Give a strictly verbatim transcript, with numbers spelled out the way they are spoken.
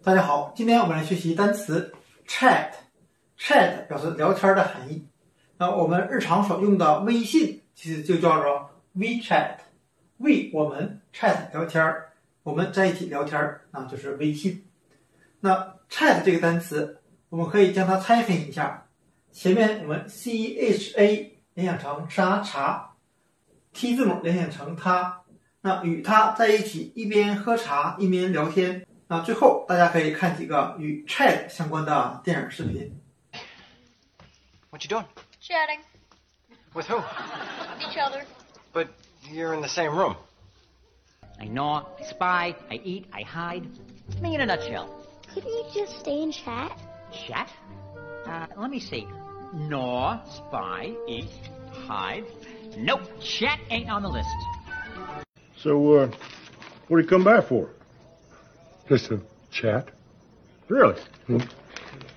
大家好，今天我们来学习单词 chat。chat 表示聊天的含义。那我们日常所用的微信其实就叫做 WeChat。We 我们 chat 聊天，我们在一起聊天，那就是微信。那 chat 这个单词，我们可以将它拆分一下。前面我们 cha 联想成沙茶 ，t 字母联想成他，那与他在一起一边喝茶一边聊天。那最后大家可以看几个与 chat 相关的电影视频。 What you doing? Chatting. With who? Each other. But you're in the same room. I gnaw, I spy, I eat, I hide. Me in a nutshell. Couldn't you just stay and chat? Chat? Uh, let me see. Gnaw, spy, eat, hide. Nope, chat ain't on the list. So, uh, what do you come back for? Just a chat? Really? Hmm.